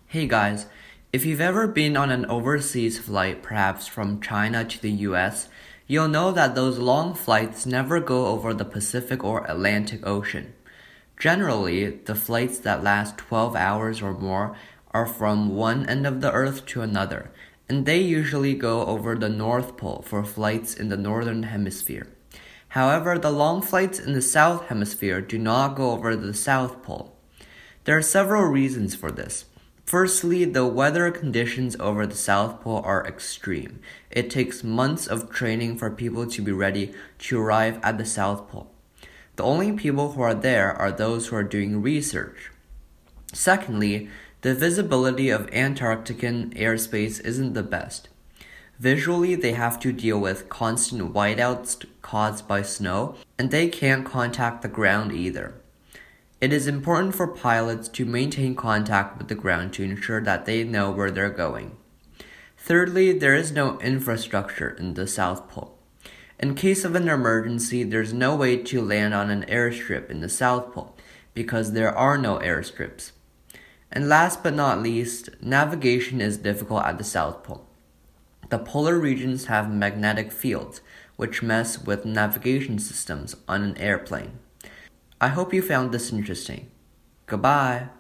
Hey guys, if you've ever been on an overseas flight, perhaps from China to the US, you'll know that those long flights never go over the Pacific or Atlantic Ocean. Generally, the flights that last 12 hours or more are from one end of the Earth to another, and they usually go over the North Pole for flights in the Northern Hemisphere. However, the long flights in the South Hemisphere do not go over the South Pole. There are several reasons for this. Firstly, the weather conditions over the South Pole are extreme. It takes months of training for people to be ready to arrive at the South Pole. The only people who are there are those who are doing research. Secondly, the visibility of Antarctican airspace isn't the best. Visually, they have to deal with constant whiteouts caused by snow, and they can't contact the ground either. It is important for pilots to maintain contact with the ground to ensure that they know where they're going. Thirdly, there is no infrastructure in the South Pole. In case of an emergency, there's no way to land on an airstrip in the South Pole because there are no airstrips. And last but not least, navigation is difficult at the South Pole. The polar regions have magnetic fields, which mess with navigation systems on an airplane. I hope you found this interesting. Goodbye.